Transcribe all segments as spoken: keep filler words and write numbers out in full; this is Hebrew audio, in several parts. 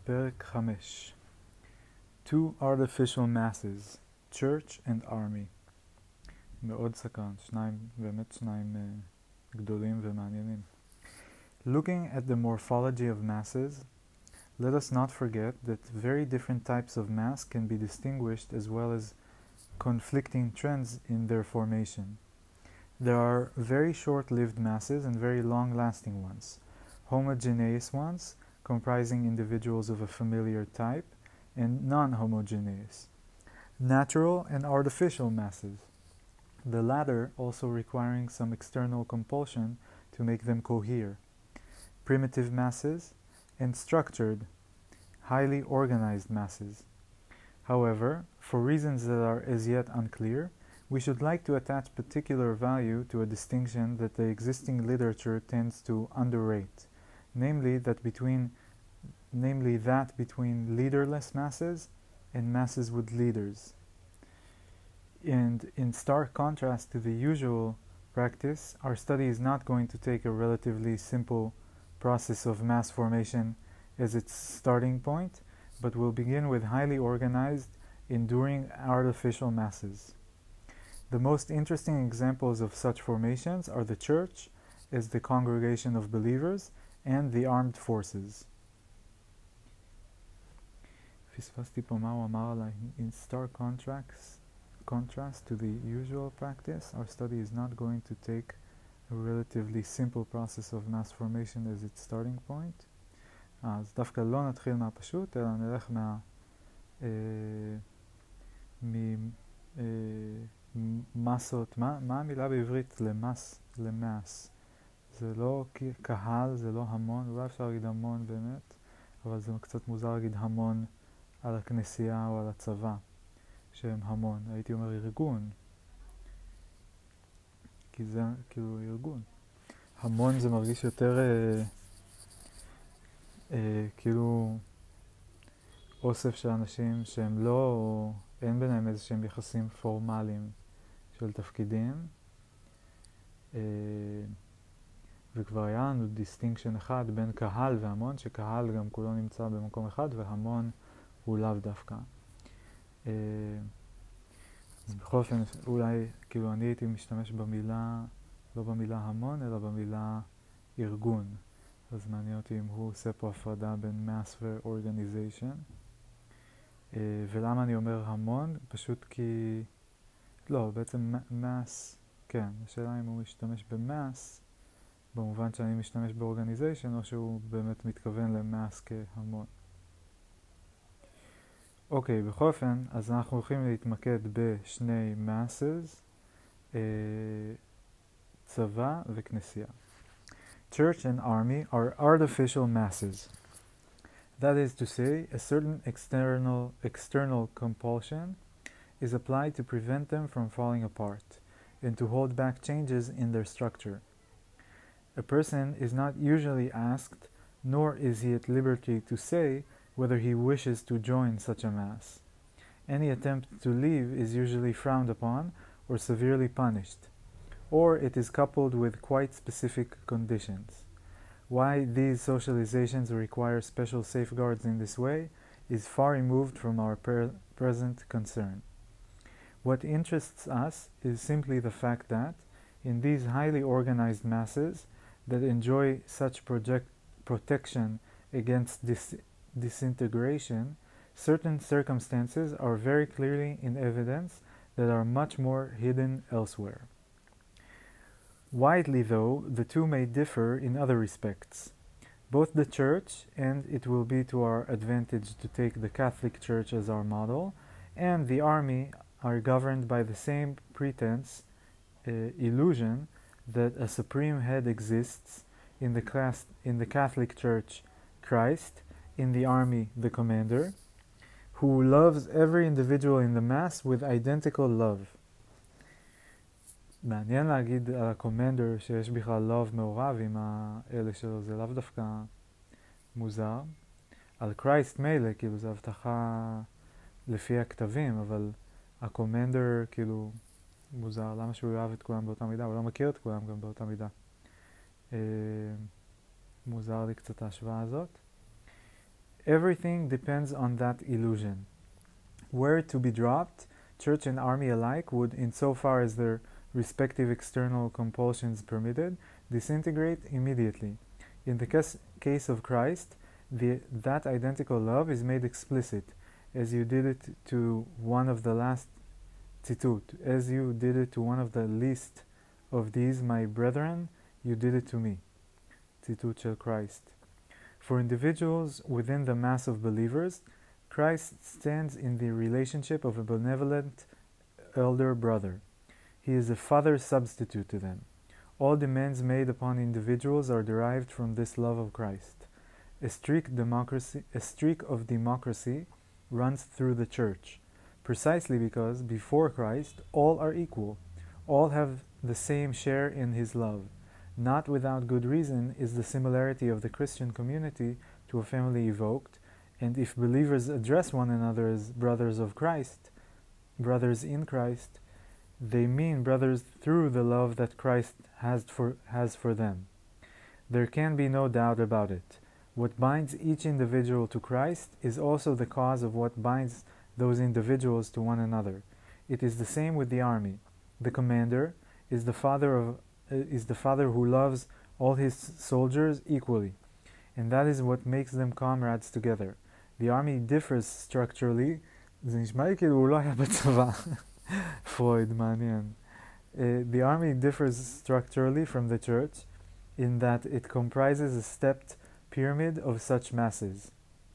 פרק חמש. Two artificial masses, church and army. מאוד סקרן, שניים, באמת שניים uh, גדולים ומעניינים. Looking at the morphology of masses, let us not forget that very different types of mass can be distinguished as well as conflicting trends in their formation. There are very short-lived masses and very long-lasting ones. Homogeneous ones, comprising individuals of a familiar type, and non-homogeneous. Natural and artificial masses, the latter also requiring some external compulsion to make them cohere. Primitive masses, and structured, highly organized masses. However, for reasons that are as yet unclear, we should like to attach particular value to a distinction that the existing literature tends to underrate, namely that between namely that between leaderless masses and masses with leaders. And in stark contrast to the usual practice, our study is not going to take a relatively simple process of mass formation as its starting point, but will begin with highly organized, enduring artificial masses. The most interesting examples of such formations are the church as the congregation of believers and the armed forces. פספסתי פה מה הוא אמר עליי. In stark contrast, contrast to the usual practice, our study is not going to take a relatively simple process of mass formation as its starting point. אז דווקא לא נתחיל מהפשוט, אלא נלך מה... אה, ממסות, מה, מה המילה בעברית למס, למאס? זה לא קהל, זה לא המון, אולי אפשר להגיד המון באמת, אבל זה קצת מוזר להגיד המון על הכנסייה או על הצבא, שהם המון. הייתי אומר ארגון, כי זה כאילו ארגון. המון זה מרגיש יותר אה, אה, כאילו אוסף של אנשים שהם לא, או אין ביניהם איזה שהם יחסים פורמליים של תפקידים. אה, וכבר היה לנו דיסטינקשן אחד בין קהל והמון, שקהל גם כולו נמצא במקום אחד, והמון הוא לאו דווקא. אה, אז בכל אופן, אולי, כאילו אני הייתי משתמש במילה, לא במילה המון, אלא במילה ארגון. אז מעניין אותי אם הוא עושה פה הפרדה בין mass ו-organization. אה, ולמה אני אומר המון? פשוט כי... לא, בעצם mass, כן, השאלה אם הוא משתמש ב-mass, במובן שאני משתמש ב-organization, או שהוא באמת מתכוון ל-mass כהמון. אוקיי, בכל אופן, אז אנחנו הולכים להתמקד בשני masses, אה, צבא וכנסייה. Church and army are artificial masses. That is to say, a certain external, external compulsion is applied to prevent them from falling apart and to hold back changes in their structure. A person is not usually asked, nor is he at liberty to say whether he wishes to join such a mass. Any attempt to leave is usually frowned upon or severely punished, or it is coupled with quite specific conditions. Why these socializations require special safeguards in this way is far removed from our pre- present concern. What interests us is simply the fact that, in these highly organized masses that enjoy such project- protection against dis- disintegration, certain circumstances are very clearly in evidence that are much more hidden elsewhere. Widely, though, the two may differ in other respects. Both the Church, and it will be to our advantage to take the Catholic Church as our model, and the army are governed by the same pretense, uh, illusion, that a supreme head exists, in the, class, in the Catholic Church, Christ, in the army, the commander, who loves every individual in the mass with identical love. מעניין להגיד על הקומנדר שיש בכלל love מעורב עם האלה שלו, זה לאו דווקא מוזר. על קרייסט מילא, כאילו זה הבטחה לפי הכתבים, אבל הקומנדר כאילו מוזר, למה שהוא יאהב את כולם באותה מידה? הוא לא מכיר את כולם גם באותה מידה. אה, מוזר לי קצת ההשוואה הזאת. Everything depends on that illusion. Were it to be dropped, church and army alike would, insofar as their respective external compulsions permitted, disintegrate immediately. In the cas- case of Christ, the, that identical love is made explicit, as you did it to one of the last tzitut, as you did it to one of the least of these, my brethren, you did it to me. Tzitut shel Christ. For individuals within the mass of believers, Christ stands in the relationship of a benevolent elder brother. He is a father substitute to them. All demands made upon individuals are derived from this love of Christ. A streak, democracy, a streak of democracy runs through the church, precisely because, before Christ, all are equal. All have the same share in his love. Not without good reason is the similarity of the Christian community to a family evoked, and if believers address one another as brothers of Christ, brothers in Christ, they mean brothers through the love that Christ has for, has for them. There can be no doubt about it. What binds each individual to Christ is also the cause of what binds those individuals to one another. It is the same with the army. The commander is the father of uh, is the father who loves all his soldiers equally, and that is what makes them comrades together. The army differs structurally. זה נשמע לי כאילו הוא לא היה בצבא. פרויד, מעניין. Uh, the army differs structurally from the church in that it comprises a stepped pyramid of such masses.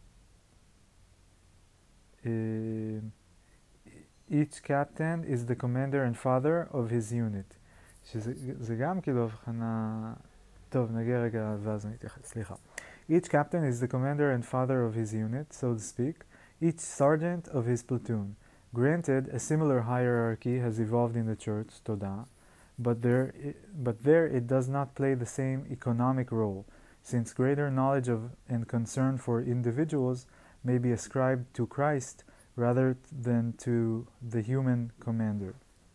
Uh, each captain is the commander and father of his unit. שזה זה גם כאילו הבחנה... טוב, נגיע רגע ואז נתייחס, סליחה. Each captain is the commander and father of his unit, so to speak, each sergeant of his platoon. Granted, a similar hierarchy has evolved in the church, Todah, but there, but there it does not play the same economic role, since greater knowledge of and concern for individuals may be ascribed to Christ rather than to the human commander.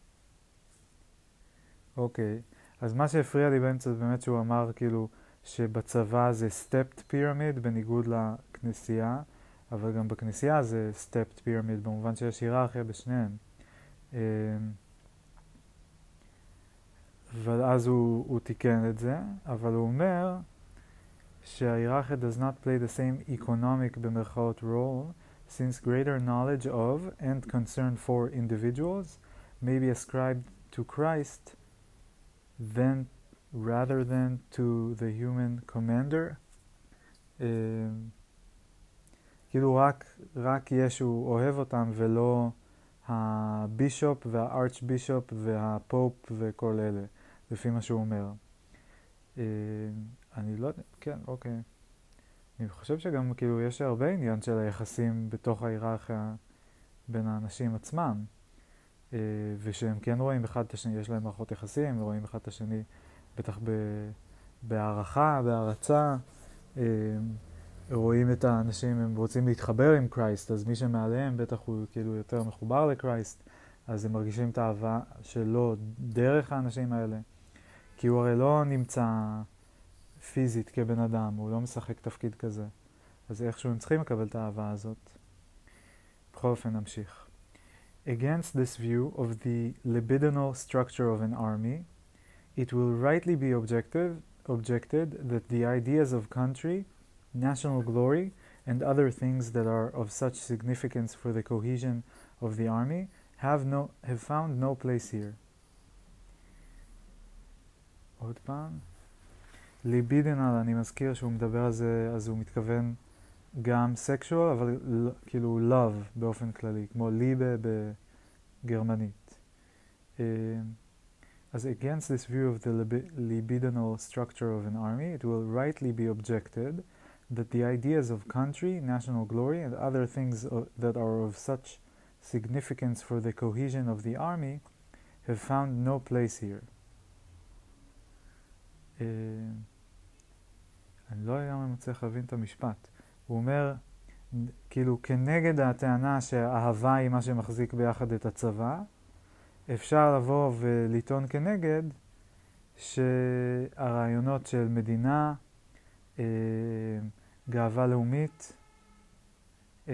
אוקיי, אז מה שהפריע לי באמצע זה באמת שהוא אמר כאילו שבצבא זה stepped pyramid בניגוד לכנסייה, אבל גם בכנסייה זה stepped pyramid במובן שיש היררכיה בשניהם. ואז הוא, הוא תיקן את זה, אבל הוא אומר שההיררכיה does not play the same economic במרכאות role, since greater knowledge of and concern for individuals may be ascribed to Christ then rather than to the human commander. כאילו רק, רק ישו אוהב אותם ולא הבישופ והארצ'בישופ והפופ וכל אלה, לפי מה שהוא אומר. אני לא יודע, כן, אוקיי. אני חושב שגם כאילו יש הרבה עניין של היחסים בתוך ההיררכיה בין האנשים עצמם. ושהם כן רואים אחד את השני, יש להם מערכות יחסים, ורואים אחד את השני בטח בהערכה, בהערצה, רואים את האנשים, הם רוצים להתחבר עם קרייסט, אז מי שמעליהם בטח הוא כאילו יותר מחובר לקרייסט, אז הם מרגישים את האהבה שלו דרך האנשים האלה, כי הוא הרי לא נמצא פיזית כבן אדם, הוא לא משחק תפקיד כזה, אז איכשהו הם צריכים לקבל את האהבה הזאת. בכל אופן נמשיך. Against this view of the libidinal structure of an army, it will rightly be objective, objected that the ideas of country, national glory, and other things that are of such significance for the cohesion of the army have, no, have found no place here. עוד פעם. ליבידינל, אני מזכיר שהוא מדבר על זה, אז הוא מתכוון גם sexual, אבל כאילו love באופן כללי, כמו ליבה בגרמנית. As against this view of the libidinal structure of an army, it will rightly be objected that the ideas of country, national glory, and other things that are of such significance for the cohesion of the army have found no place here. אני לא לגמרי מצליח להבין את המשפט. הוא אומר, כאילו, כנגד הטענה שהאהבה היא מה שמחזיק ביחד את הצבא, אפשר לבוא ולטעון כנגד שהרעיונות של מדינה, אה, גאווה לאומית, אה,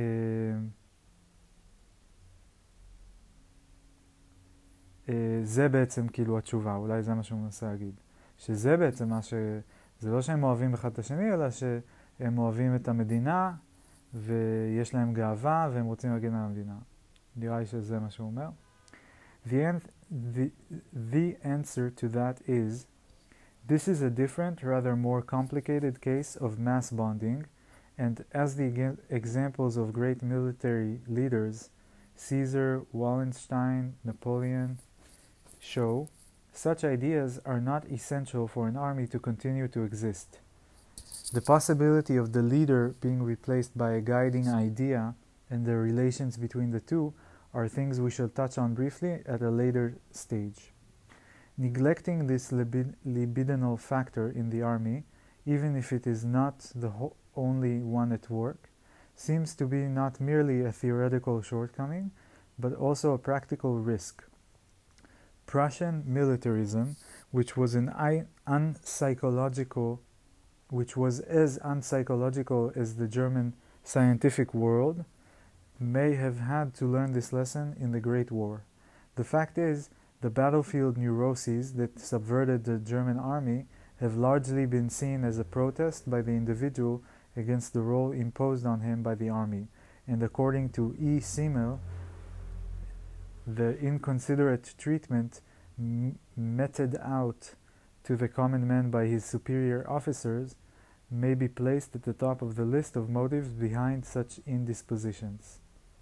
אה, זה בעצם כאילו התשובה, אולי זה מה שהוא מנסה להגיד. שזה בעצם מה ש... זה לא שהם אוהבים אחד את השני, אלא שהם אוהבים את המדינה, ויש להם גאווה, והם רוצים להגן על המדינה. נראה לי שזה מה שהוא אומר. The, an- the, the answer to that is, this is a different, rather more complicated case of mass bonding, and as the ega- examples of great military leaders, Caesar, Wallenstein, Napoleon, show, such ideas are not essential for an army to continue to exist. The possibility of the leader being replaced by a guiding idea and the relations between the two are things we shall touch on briefly at a later stage. Neglecting this libid- libidinal factor in the army, even if it is not the ho- only one at work, seems to be not merely a theoretical shortcoming, but also a practical risk. Prussian militarism, which was an I- unpsychological, which was as unpsychological as the German scientific world, may have had to learn this lesson in the Great War. The fact is, the battlefield neuroses that subverted the German army have largely been seen as a protest by the individual against the role imposed on him by the army, and according to E. Simmel, the inconsiderate treatment m- meted out to the common man by his superior officers may be placed at the top of the list of motives behind such indispositions.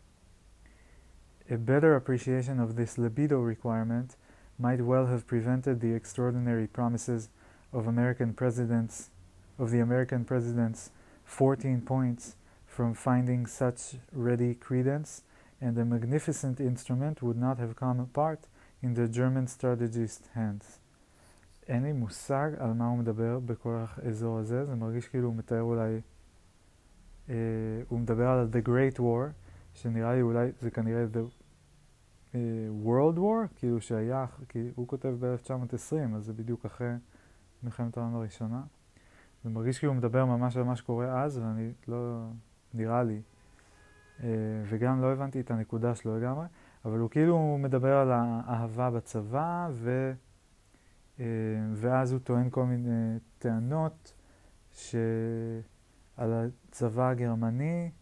A better appreciation of this libido requirement might well have prevented the extraordinary promises of American presidents, of the American president's fourteen points from finding such ready credence, and a magnificent instrument would not have come apart in the German strategist's hands. אין לי מושג על מה הוא מדבר בכל האזור הזה, זה מרגיש כאילו הוא מתאר אולי, אה, הוא מדבר על The Great War, שנראה לי אולי, זה כנראה The uh, World War, כאילו שהיה, כי הוא כותב ב-אלף תשע מאות עשרים, אז זה בדיוק אחרי מלחמת העולם הראשונה. זה מרגיש כאילו הוא מדבר ממש על מה שקורה אז, ואני לא, נראה לי, uh, וגם לא הבנתי את הנקודה שלו לגמרי, אבל הוא כאילו מדבר על האהבה בצבא, ו... ואז הוא טוען כל מיני טענות ש... על הצבא הגרמני,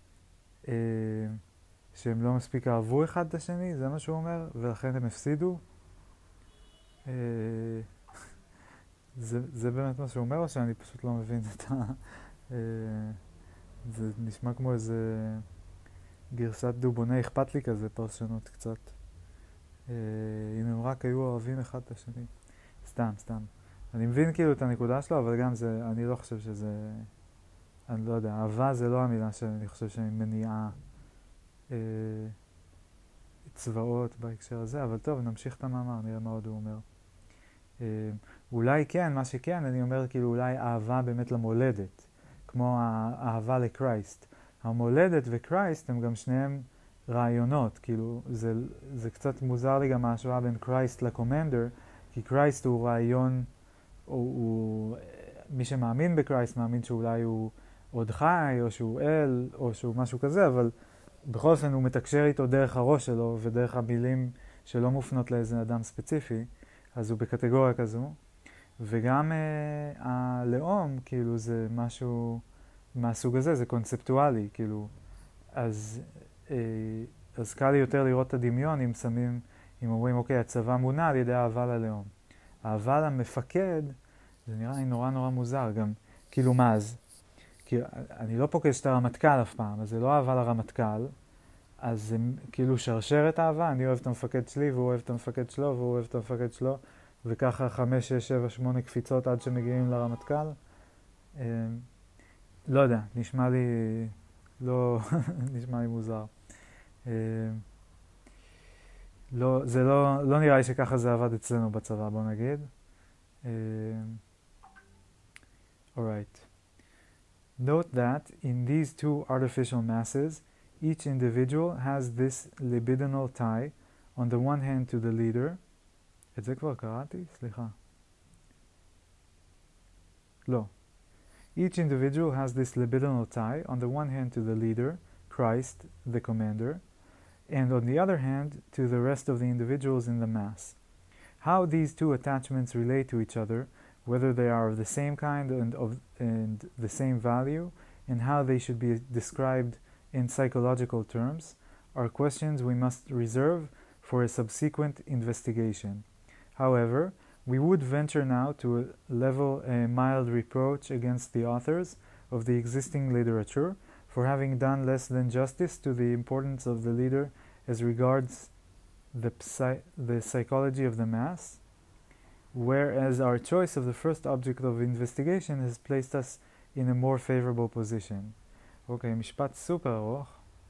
שהם לא מספיק אהבו אחד את השני, זה מה שהוא אומר, ולכן הם הפסידו. זה, זה באמת מה שהוא אומר, או שאני פשוט לא מבין את ה... זה נשמע כמו איזה גרסת דובוני אכפת לי כזה, פרשנות קצת. אם הם רק היו אוהבים אחד את השני. סתם, סתם. אני מבין כאילו את הנקודה שלו, אבל גם זה, אני לא חושב שזה, אני לא יודע, אהבה זה לא המילה שאני חושב שהיא מניעה אה, צבאות בהקשר הזה, אבל טוב, נמשיך את המאמר, נראה מה עוד הוא אומר. אה, אולי כן, מה שכן, אני אומר כאילו אולי אהבה באמת למולדת, כמו האהבה לקרייסט. המולדת וקרייסט הם גם שניהם רעיונות, כאילו זה, זה קצת מוזר לי גם ההשוואה בין קרייסט לקומנדר, כי קרייסט הוא רעיון, הוא, הוא, מי שמאמין בקרייסט מאמין שאולי הוא עוד חי, או שהוא אל, או שהוא משהו כזה, אבל בכל אופן הוא מתקשר איתו דרך הראש שלו, ודרך המילים שלא מופנות לאיזה אדם ספציפי, אז הוא בקטגוריה כזו. וגם אה, הלאום, כאילו זה משהו מהסוג הזה, זה קונספטואלי, כאילו. אז, אה, אז קל לי יותר לראות את הדמיון אם שמים, אם אומרים, אוקיי, הצבא מונע על ידי אהבה ללאום. אהבה למפקד, זה נראה לי נורא נורא מוזר גם. כאילו מה אז? כי אני לא פוגש את הרמטכ"ל אף פעם, אז זה לא אהבה לרמטכ"ל, אז זה כאילו שרשרת אהבה, אני אוהב את המפקד שלי, והוא אוהב את המפקד שלו, והוא אוהב את המפקד שלו, וככה חמש, שש, שבע, שמונה קפיצות עד שמגיעים לרמטכ"ל. אה, לא יודע, נשמע לי, לא, נשמע לי מוזר. אה, לא, זה לא, לא נראה לי שככה זה עבד אצלנו בצבא, בוא נגיד. Uh, alright. Note that in these two artificial masses, each individual has this libidinal tie, on the one hand to the leader. את זה כבר קראתי? סליחה. לא. Each individual has this libidinal tie, on the one hand to the leader, Christ, the commander, and on the other hand, to the rest of the individuals in the mass. How these two attachments relate to each other, whether they are of the same kind and of and the same value, and how they should be described in psychological terms, are questions we must reserve for a subsequent investigation. However, we would venture now to level a mild reproach against the authors of the existing literature for having done less than justice to the importance of the leader as regards the, psy the psychology of the mass, whereas our choice of the first object of investigation has placed us in a more favorable position. אוקיי, okay, משפט סופר ארוך.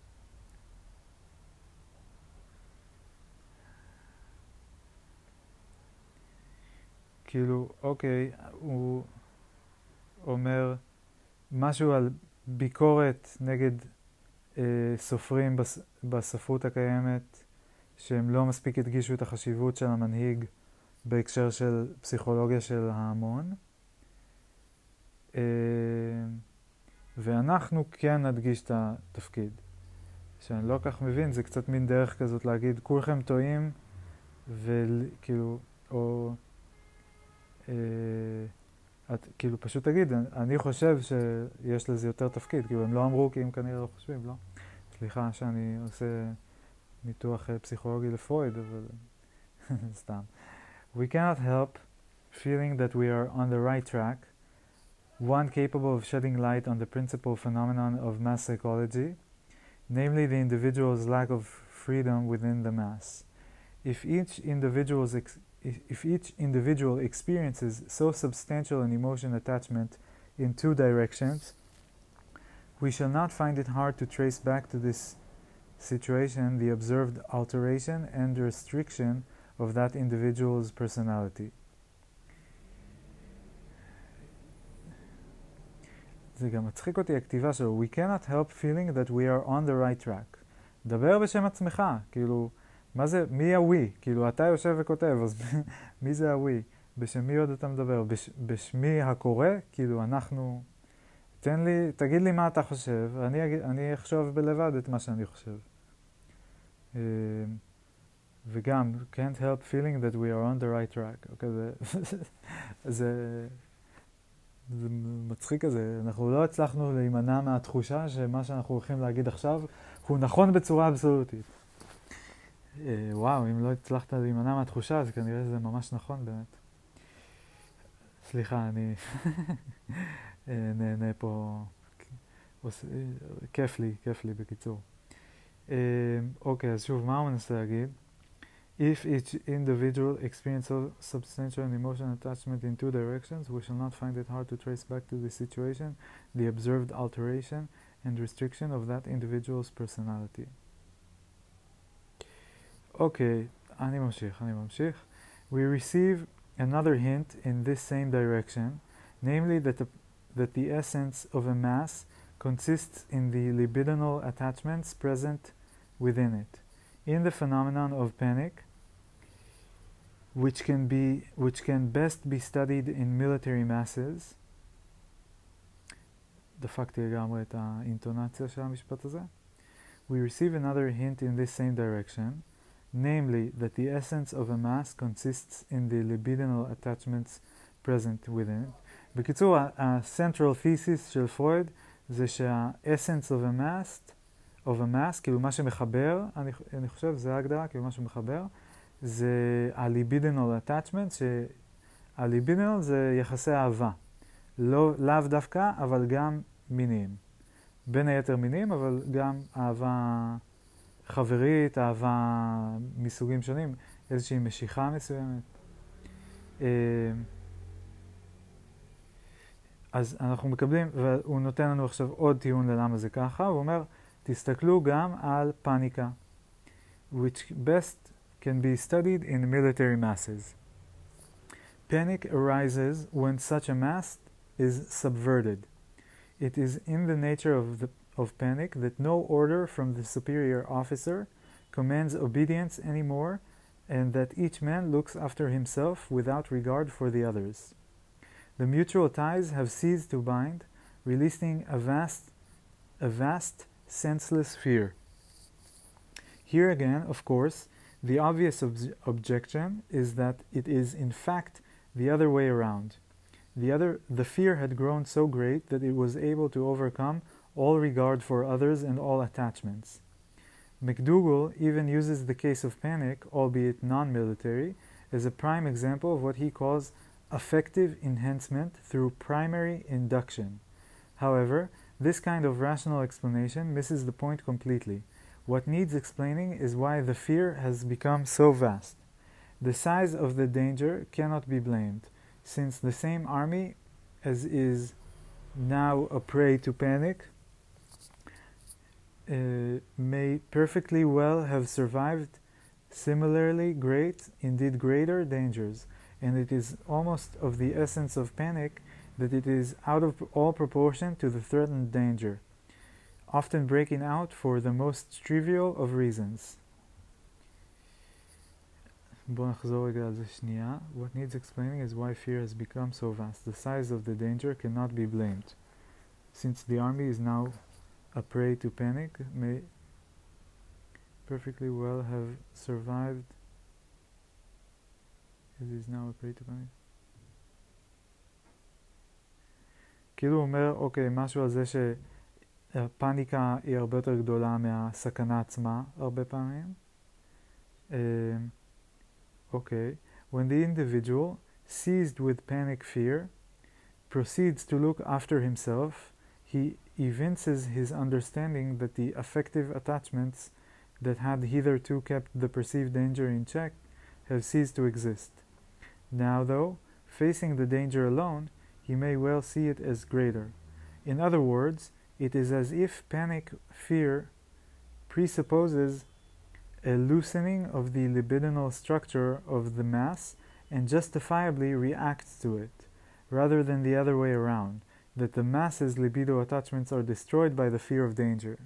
כאילו, אוקיי, הוא אומר משהו על ביקורת נגד אה, סופרים בס, בספרות הקיימת, שהם לא מספיק הדגישו את החשיבות של המנהיג בהקשר של פסיכולוגיה של ההמון. אה, ואנחנו כן נדגיש את התפקיד. שאני לא כך מבין, זה קצת מין דרך כזאת להגיד, כולכם טועים, וכאילו, או... אה, את כאילו פשוט תגיד, אני חושב שיש לזה יותר תפקיד, כאילו הם לא אמרו כי הם כנראה לא חושבים, לא? סליחה שאני עושה ניתוח פסיכולוגי לפרויד, אבל סתם. We cannot help feeling that we are on the right track, one capable of shedding light on the principal phenomenon of mass psychology, namely the individual's lack of freedom within the mass. If each individual's ex If each individual experiences so substantial an emotion attachment in two directions, we shall not find it hard to trace back to this situation the observed alteration and restriction of that individual's personality. זה גם מצחיק אותי הכתיבה שלו. We cannot help feeling that we are on the right track. דבר בשם עצמך, כאילו... מה זה, מי הווי? כאילו, אתה יושב וכותב, אז מי זה הווי? בשם מי עוד אתה מדבר? בש, בשמי הקורא? כאילו, אנחנו... תן לי, תגיד לי מה אתה חושב, אני, אני אחשוב בלבד את מה שאני חושב. וגם, can't help feeling that we are on the right track. אוקיי, זה... זה... זה מצחיק כזה. אנחנו לא הצלחנו להימנע מהתחושה שמה שאנחנו הולכים להגיד עכשיו הוא נכון בצורה אבסולוטית. וואו, אם לא הצלחת להימנע מהתחושה, אז כנראה זה ממש נכון באמת. סליחה, אני נהנה פה, כיף לי, כיף לי בקיצור. אוקיי, אז שוב, מה הוא מנסה להגיד? If each individual experiences substantial and emotional attachment in two directions, we shall not find it hard to trace back to the situation the observed alteration and restriction of that individual's personality. Okay, אני ממשיך, אני ממשיך. We receive another hint in this same direction, namely that the, that the essence of a mass consists in the libidinal attachments present within it. In the phenomenon of panic, which can be which can best be studied in military masses. דפקתי לגמרי את האינטונציה של המשפט הזה. We receive another hint in this same direction, namely that the essence of a mass consists in the libidinal attachments present within it. בקיצור, ה-central thesis של פרויד זה שה-essence of a mass, of a mass, כאילו מה שמחבר, אני, אני חושב, זה ההגדרה, כאילו מה שמחבר, זה ה-libidinal attachment, שה-libidinal זה יחסי אהבה. לא, לאו דווקא, אבל גם מיניים. בין היתר מיניים, אבל גם אהבה חברית, אהבה מסוגים שונים, איזושהי משיכה מסוימת. אז אנחנו מקבלים, והוא נותן לנו עכשיו עוד טיעון ללמה זה ככה, הוא אומר, תסתכלו גם על פאניקה, which best can be studied in military masses. Panic arises when such a mass is subverted. It is in the nature of, the, of panic that no order from the superior officer commands obedience anymore, and that each man looks after himself without regard for the others. The mutual ties have ceased to bind, releasing a vast, a vast senseless fear. Here again, of course, the obvious ob- objection is that it is in fact the other way around. The other, the fear had grown so great that it was able to overcome all regard for others and all attachments. McDougall even uses the case of panic, albeit non-military, as a prime example of what he calls affective enhancement through primary induction. However, this kind of rational explanation misses the point completely. What needs explaining is why the fear has become so vast. The size of the danger cannot be blamed, since the same army as is now a prey to panic uh, may perfectly well have survived similarly great, indeed greater dangers, and it is almost of the essence of panic that it is out of all proportion to the threatened danger, often breaking out for the most trivial of reasons. בואו נחזור רגע על זה שנייה. What needs explaining is why fear has become so vast. The size of the danger cannot be blamed. Since the army is now a prey to panic, may perfectly well have survived. It is now a prey to panic. כאילו הוא אומר, אוקיי, משהו על זה שהפאניקה היא הרבה יותר גדולה מהסכנה עצמה, הרבה פעמים. Okay, when the individual, seized with panic fear, proceeds to look after himself, he evinces his understanding that the affective attachments that had hitherto kept the perceived danger in check have ceased to exist. Now, though, facing the danger alone, he may well see it as greater. In other words, it is as if panic fear presupposes a loosening of the libidinal structure of the mass and justifiably reacts to it, rather than the other way around, that the mass's libido attachments are destroyed by the fear of danger.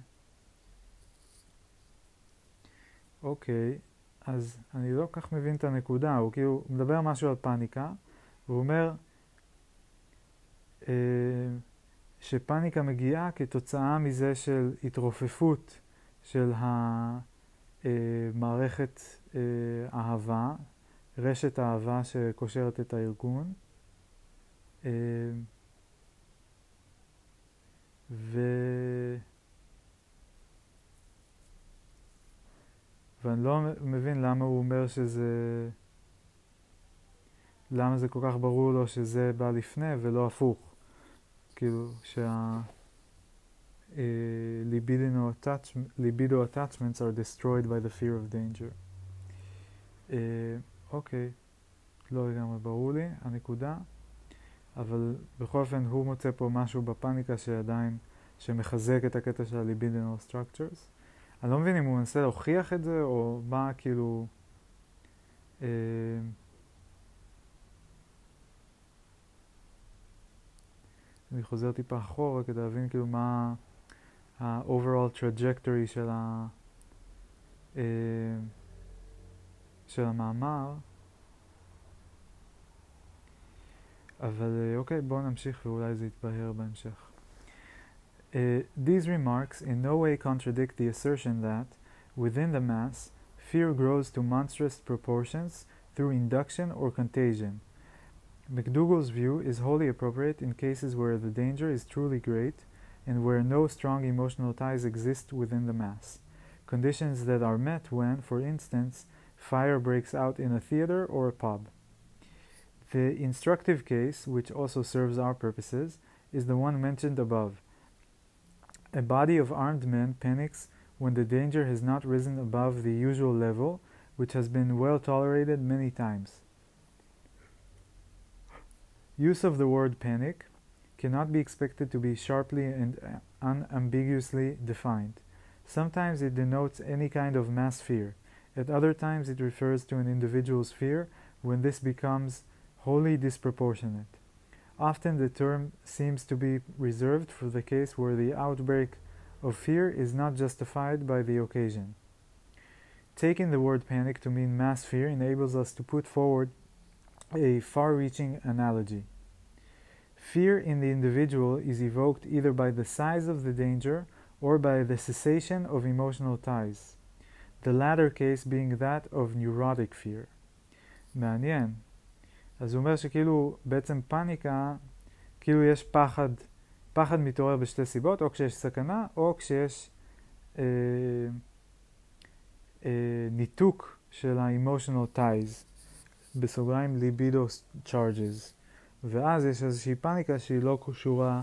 אוקיי, אז אני לא כך מבין את הנקודה, הוא כאילו מדבר משהו על פאניקה, והוא אומר אה, שפאניקה מגיעה כתוצאה מזה של התרופפות של ה... מערכת אהבה, רשת אהבה שקושרת את הארגון, ו... ואני לא מבין למה הוא אומר שזה, למה זה כל כך ברור לו שזה בא לפני ולא הפוך, כאילו שה... Uh, libido, attach libido attachments are destroyed by the fear of danger. אוקיי, uh, לא לגמרי ברור לי הנקודה, אבל בכל אופן הוא מוצא פה משהו בפאניקה שעדיין, שמחזק את הקטע של ה-libidinal structures. אני לא מבין אם הוא מנסה להוכיח את זה, או מה כאילו... Uh, אני חוזר טיפה אחורה כדי להבין כאילו מה... ה-overall trajectory של, ה, uh, של המאמר. אבל אוקיי, בואו נמשיך ואולי זה יתבהר בהמשך. Uh, these remarks in no way contradict the assertion that, within the mass, fear grows to monstrous proportions through induction or contagion. McDougall's view is wholly appropriate in cases where the danger is truly great and where no strong emotional ties exist within the mass. Conditions that are met when, for instance, fire breaks out in a theater or a pub. The instructive case, which also serves our purposes, is the one mentioned above. A body of armed men panics when the danger has not risen above the usual level, which has been well tolerated many times. Use of the word panic cannot be expected to be sharply and unambiguously defined. Sometimes it denotes any kind of mass fear. At other times it refers to an individual's fear when this becomes wholly disproportionate. Often the term seems to be reserved for the case where the outbreak of fear is not justified by the occasion. Taking the word panic to mean mass fear enables us to put forward a far-reaching analogy. Fear in the individual is evoked either by the size of the danger or by the cessation of emotional ties, the latter case being that of neurotic fear. מעניין. אז הוא אומר שכאילו בעצם פאניקה, כאילו יש פחד, פחד מתעורר בשתי סיבות, או כשיש סכנה, או כשיש אה, אה, ניתוק של ה-emotional ties, בסוגריים libido charges. ואז יש איזושהי פאניקה שהיא לא קשורה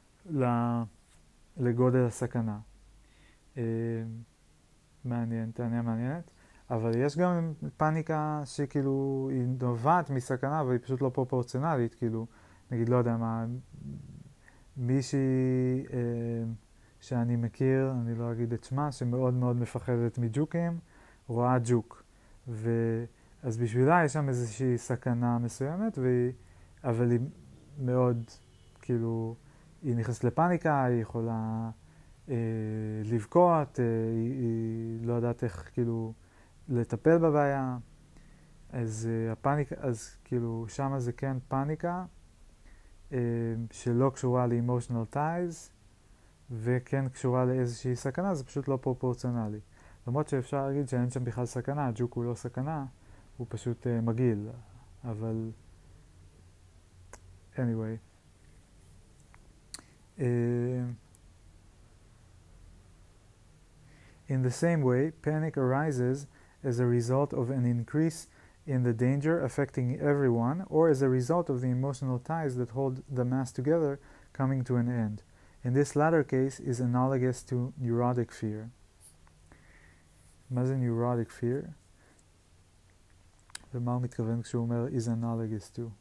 לגודל הסכנה. אה, מעניין, טענה מעניינת. אבל יש גם פאניקה שכאילו היא נובעת מסכנה, אבל היא פשוט לא פרופורציונלית, כאילו, נגיד, לא יודע מה, מישהי אה, שאני מכיר, אני לא אגיד את שמה, שמאוד מאוד מפחדת מג'וקים, רואה ג'וק. ו... אז בשבילה יש שם איזושהי סכנה מסוימת, והיא... אבל היא מאוד, כאילו, היא נכנסת לפאניקה, היא יכולה אה, לבכות, אה, היא, היא לא יודעת איך, כאילו, לטפל בבעיה. אז uh, הפאניקה, אז כאילו שמה זה כן פאניקה uh, שלא קשורה ל-emotional ties וכן קשורה לאיזושהי סכנה, זה פשוט לא פרופורציונלי. למרות שאפשר להגיד שאין שם בכלל סכנה, הג'וק הוא לא סכנה, הוא פשוט uh, מגעיל, אבל anyway. Uh, in the same way, panic arises as a result of an increase in the danger affecting everyone, or as a result of the emotional ties that hold the mass together coming to an end. In this latter case is analogous to neurotic fear. מה זה neurotic fear? ומה הוא מתכוון כשהוא אומר is analogous to?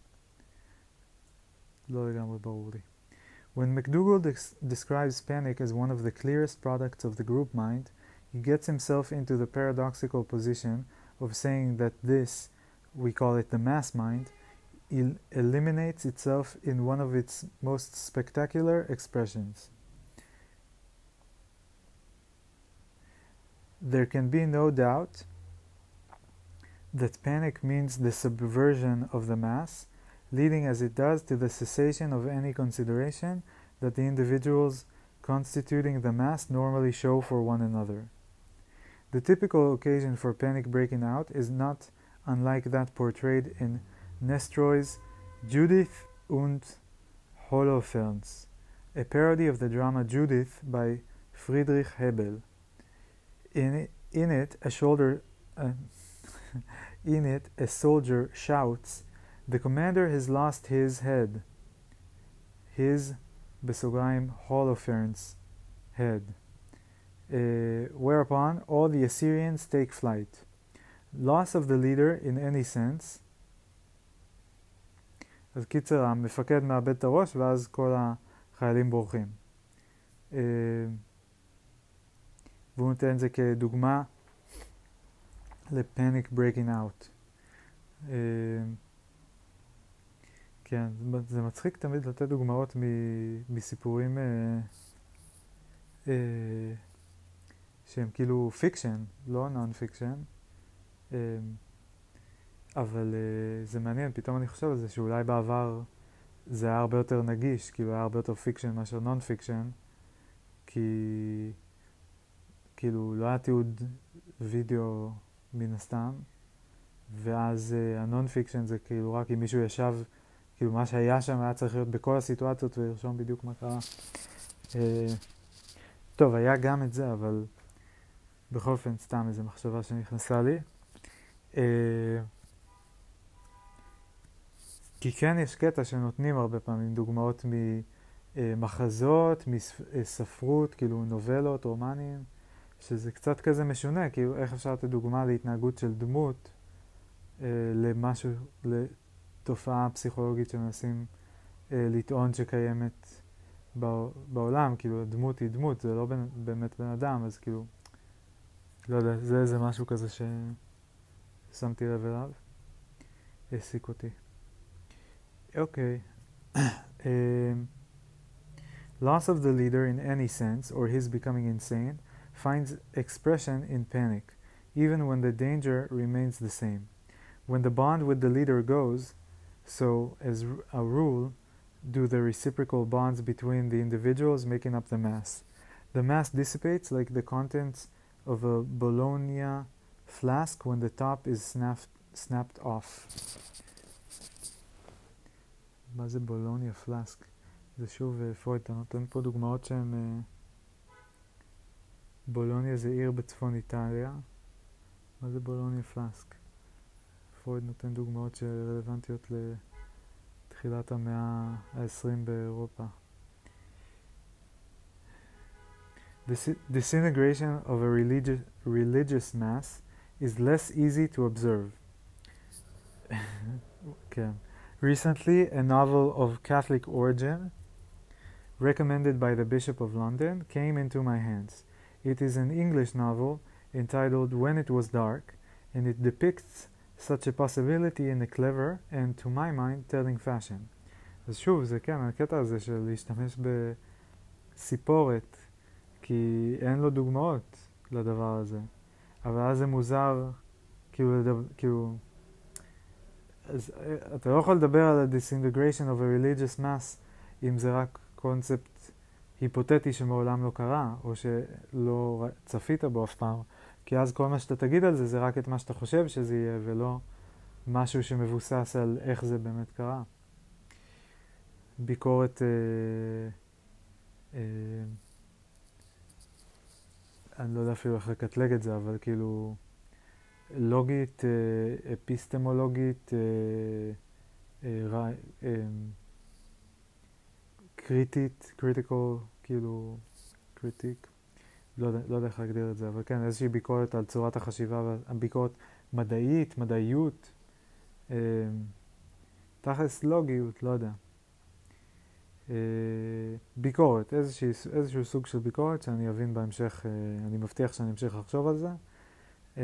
לא לגמרי ברור לי. When McDougall describes panic as one of the clearest products of the group mind, he gets himself into the paradoxical position of saying that this, we call it the mass mind, el- eliminates itself in one of its most spectacular expressions. There can be no doubt that panic means the subversion of the mass, leading as it does to the cessation of any consideration that the individuals constituting the mass normally show for one another. The typical occasion for panic breaking out is not unlike that portrayed in Nestroy's Judith und Holofernes, a parody of the drama Judith by Friedrich Hebel. In it, in it a shoulder, uh, in it, a soldier shouts, "The commander has lost his head." His, בסוגריים, Holofernes, head. Uh, whereupon all the Assyrians take flight. Loss of the leader in any sense. אז קיצר, המפקד מאבד את הראש ואז כל החיילים בורחים. Uh, והוא נותן את זה כדוגמה לפניק breaking out. Uh, כן, זה מצחיק תמיד לתת דוגמאות מ- מסיפורים uh, uh, שהם כאילו פיקשן, לא נון פיקשן. Um, אבל uh, זה מעניין, פתאום אני חושב על זה שאולי בעבר זה היה הרבה יותר נגיש, כאילו היה הרבה יותר פיקשן מאשר נון פיקשן, כי כאילו לא היה תיעוד וידאו מן הסתם, ואז uh, הנון פיקשן זה כאילו רק אם מישהו ישב, כאילו מה שהיה שם היה צריך להיות בכל הסיטואציות ולרשום בדיוק מה קרה. Uh, טוב, היה גם את זה, אבל בכל אופן סתם איזו מחשבה שנכנסה לי. Uh, כי כן יש קטע שנותנים הרבה פעמים דוגמאות ממחזות, מספרות, כאילו נובלות, רומנים, שזה קצת כזה משונה, כאילו איך אפשר לתת דוגמה להתנהגות של דמות uh, למשהו, לתופעה פסיכולוגית שמנסים uh, לטעון שקיימת בעולם, כאילו דמות היא דמות, זה לא בן, באמת בן אדם, אז כאילו, לא יודע, זה איזה משהו כזה ששמתי לב אליו, העסיק אותי. Okay. um, loss of the leader in any sense, or his becoming insane, finds expression in panic, even when the danger remains the same. When the bond with the leader goes, so as a rule, do the reciprocal bonds between the individuals making up the mass. The mass dissipates like the contents of a Bologna flask when the top is snapped, snapped off. מה זה בולוניה פלאסק? זה שוב פרויד, אתה נותן פה דוגמאות שהן... בולוניה זה עיר בצפון איטליה. מה זה בולוניה פלאסק? פרויד נותן דוגמאות שרלוונטיות לתחילת המאה ה-עשרים באירופה. The disintegration of a religious, religious mass is less easy to observe. Okay. Recently, a novel of Catholic origin, recommended by the Bishop of London, came into my hands. It is an English novel entitled When It Was Dark, and it depicts such a possibility in a clever and, to my mind, telling fashion. אז שוב, זה כן, הקטע הזה של להשתמש בסיפורת, כי אין לו דוגמאות לדבר הזה. אבל אז זה מוזר, כאילו, כאילו, אז אתה לא יכול לדבר על ה-disintegration of a religious mass אם זה רק קונספט היפותטי שמעולם לא קרה, או שלא צפית בו אף פעם, כי אז כל מה שאתה תגיד על זה זה רק את מה שאתה חושב שזה יהיה, ולא משהו שמבוסס על איך זה באמת קרה. ביקורת, אה, אה, אני לא יודע אפילו איך לקטלג את זה, אבל כאילו לוגית, אה, אפיסטמולוגית, אה, אה, אה, קריטית, critical, כאילו, קריטיק, לא יודע, לא יודע איך להגדיר את זה, אבל כן, איזושהי ביקורת על צורת החשיבה, ביקורת מדעית, מדעיות, אה, תכלס לוגיות, לא יודע. אה, ביקורת, איזושהי, איזשהו סוג של ביקורת שאני אבין בהמשך, אה, אני מבטיח שאני אמשיך לחשוב על זה, אה,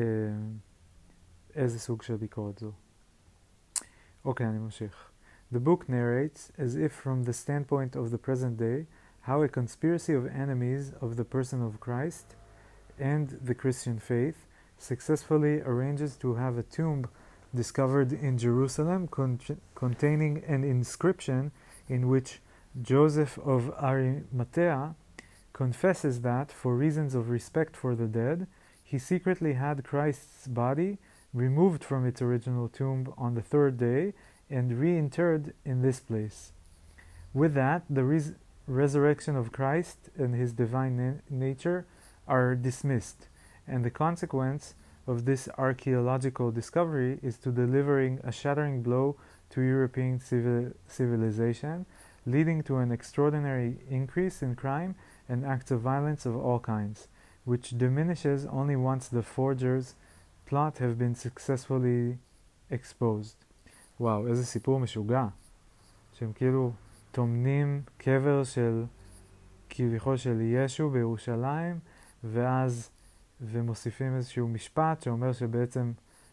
איזה סוג של ביקורת זו. אוקיי, אני ממשיך. The book narrates, as if from the standpoint of the present day, how a conspiracy of enemies of the person of Christ and the Christian faith successfully arranges to have a tomb discovered in Jerusalem con- containing an inscription in which Joseph of Arimathea confesses that, for reasons of respect for the dead, he secretly had Christ's body removed from its original tomb on the third day and reinterred in this place. With that, the res- resurrection of Christ and his divine na- nature are dismissed, and the consequence of this archaeological discovery is to delivering a shattering blow to European civil- civilization, leading to an extraordinary increase in crime and acts of violence of all kinds, which diminishes only once the forger's plot have been successfully exposed. וואו, איזה סיפור משוגע. שהם כאילו תומנים קבר של כביכול של ישו בירושלים, ואז ומוסיפים איזשהו משפט שאומר שבעצם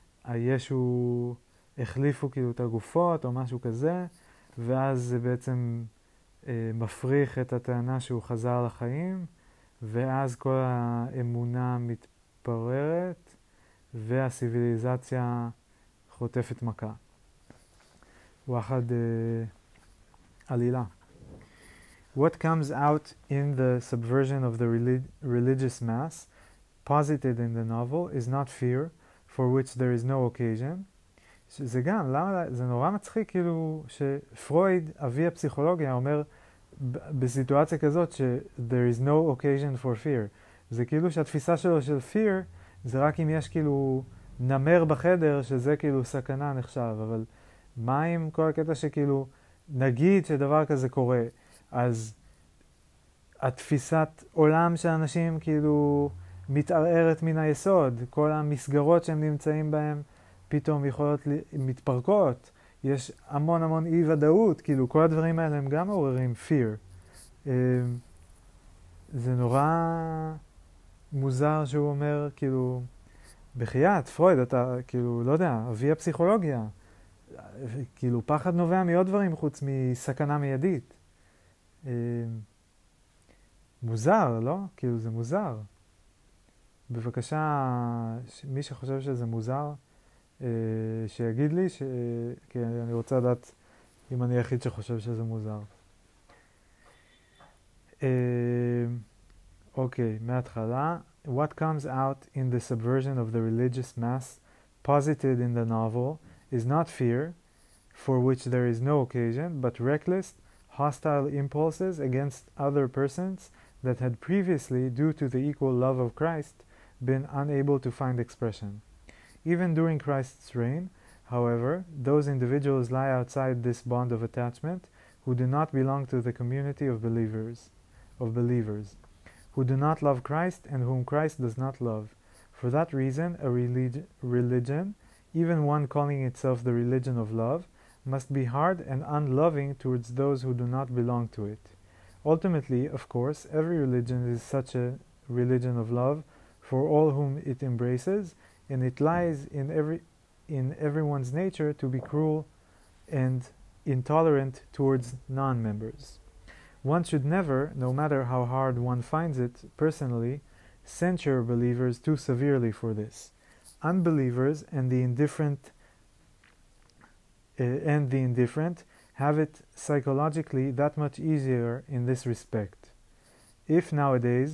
הישו החליפו כאילו את הגופות או משהו כזה, ואז זה בעצם אה, מפריך את הטענה שהוא חזר לחיים, ואז כל האמונה מתפררת והסיביליזציה חוטפת מכה. ואחד uh, עלילה. What comes out in the subversion of the relig- religious mass posited in the novel is not fear, for which there is no occasion. שזה גם, למה, זה נורא מצחיק כאילו שפרויד, אבי הפסיכולוגיה, אומר בסיטואציה כזאת ש there is no occasion for fear. זה כאילו שהתפיסה שלו של fear זה רק אם יש כאילו נמר בחדר שזה כאילו סכנה נחשב, אבל מה עם כל הקטע שכאילו נגיד שדבר כזה קורה, אז התפיסת עולם של אנשים כאילו מתערערת מן היסוד, כל המסגרות שהם נמצאים בהם פתאום יכולות מתפרקות, יש המון המון אי ודאות, כאילו כל הדברים האלה הם גם מעוררים fear. זה נורא מוזר שהוא אומר כאילו בחייאת, פרויד, אתה כאילו לא יודע, אבי הפסיכולוגיה, כאילו פחד נובע מעוד דברים חוץ מסכנה מיידית. מוזר, לא? כאילו זה מוזר. בבקשה, מי שחושב שזה מוזר, שיגיד לי, ש... כי אני רוצה לדעת אם אני היחיד שחושב שזה מוזר. אוקיי, מההתחלה. What comes out in the subversion of the religious mass posited in the novel is not fear, for which there is no occasion, but reckless, hostile impulses against other persons that had previously, due to the equal love of Christ, been unable to find expression. Even during Christ's reign, however, those individuals lie outside this bond of attachment who do not belong to the community of believers, of believers, who do not love Christ and whom Christ does not love. For that reason, a relig- religion, even one calling itself the religion of love, must be hard and unloving towards those who do not belong to it. Ultimately, of course, every religion is such a religion of love for all whom it embraces, and it lies in every in everyone's nature to be cruel and intolerant towards non-members. One should never, no matter how hard one finds it personally, censure believers too severely for this. Unbelievers and the indifferent uh, and the indifferent have it psychologically that much easier in this respect. If nowadays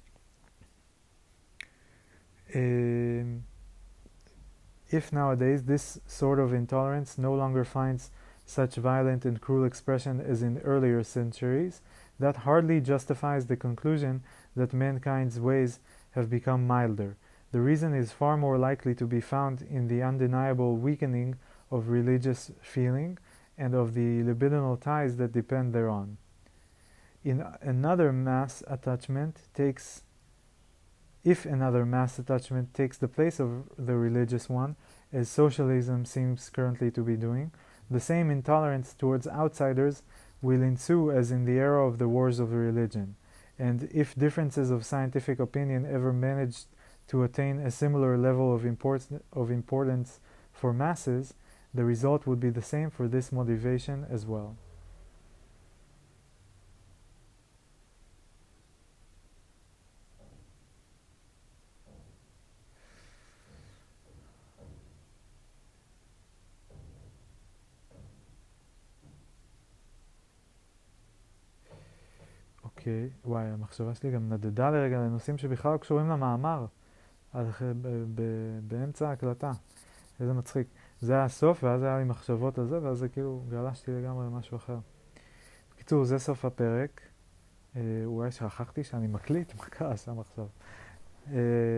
um, if nowadays this sort of intolerance no longer finds such violent and cruel expression as in earlier centuries, that hardly justifies the conclusion that mankind's ways have become milder. The reason is far more likely to be found in the undeniable weakening of religious feeling and of the libidinal ties that depend thereon. In another mass attachment takes if another mass attachment takes the place of the religious one, as socialism seems currently to be doing, the same intolerance towards outsiders will ensue as in the era of the wars of religion. And if differences of scientific opinion ever managed to attain a similar level of, import- of importance for masses, the result would be the same for this motivation as well. אוקיי, וואי, המחשבה שלי גם נדדה לרגע לנושאים שבכלל לא קשורים למאמר, באמצע ההקלטה. איזה מצחיק. זה היה הסוף, ואז היה לי מחשבות על זה, ואז זה כאילו גלשתי לגמרי למשהו אחר. בקיצור, זה סוף הפרק. אה, אולי שכחתי שאני מקליט, מה קרה שם עכשיו? אה,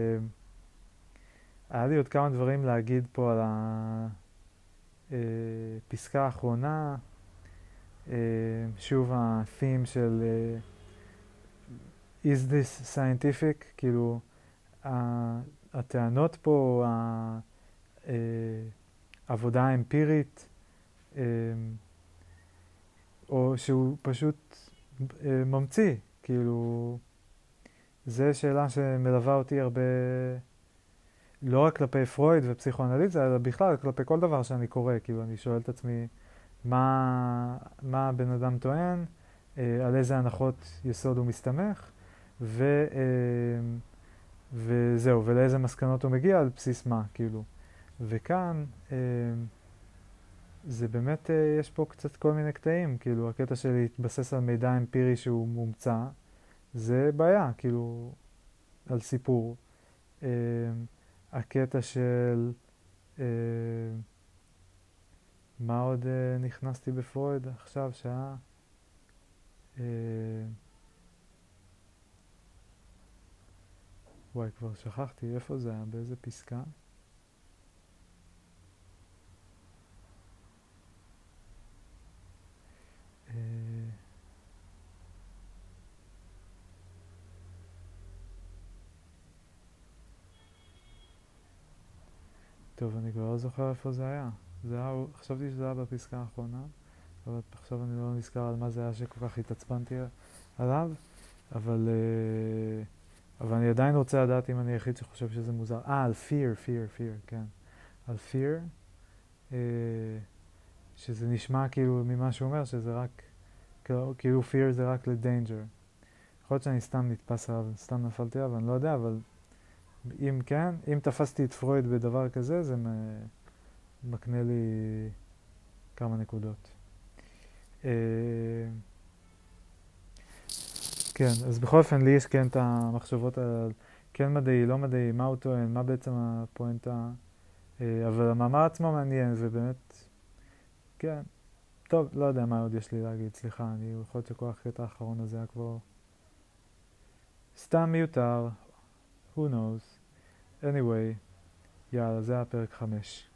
היה לי עוד כמה דברים להגיד פה על הפסקה האחרונה. אה, שוב, ה-theme של אה, is this scientific? כאילו, הטענות פה, העבודה האמפירית, או שהוא פשוט ממציא, כאילו, זו שאלה שמלווה אותי הרבה, לא רק כלפי פרויד ופסיכואנליזה, אלא בכלל כלפי כל דבר שאני קורא, כאילו, אני שואל את עצמי, מה, מה הבן אדם טוען, על איזה הנחות יסוד הוא מסתמך, ו, וזהו, ולאיזה מסקנות הוא מגיע, על בסיס מה, כאילו. וכאן, זה באמת, יש פה קצת כל מיני קטעים, כאילו, הקטע של להתבסס על מידע אמפירי שהוא מומצא, זה בעיה, כאילו, על סיפור. הקטע של, מה עוד נכנסתי בפרויד עכשיו, שעה? וואי, כבר שכחתי, איפה זה היה? באיזה פסקה? טוב, אני כבר לא זוכר איפה זה היה. זה היה, חשבתי שזה היה בפסקה האחרונה, אבל עכשיו אני לא נזכר על מה זה היה שכל כך התעצבנתי עליו, אבל, אבל אני עדיין רוצה לדעת אם אני היחיד שחושב שזה מוזר. אה, על fear, fear, fear, כן. על fear, שזה נשמע כאילו ממה שהוא אומר, שזה רק, כאילו fear זה רק ל-danger. יכול להיות שאני סתם נתפס עליו, סתם נפלתי עליו, אני לא יודע, אבל אם כן, אם תפסתי את פרויד בדבר כזה, זה מקנה לי כמה נקודות. כן, אז בכל אופן לי יש כן את המחשבות על כן מדעי, לא מדעי, מה הוא טוען, מה בעצם הפואנטה, אה, אבל המאמר עצמו מעניין, ובאמת, כן, טוב, לא יודע מה עוד יש לי להגיד, סליחה, אני יכול להיות שכל הקטע האחרון הזה היה כבר סתם מיותר, who knows, anyway, יאללה, זה היה פרק חמש.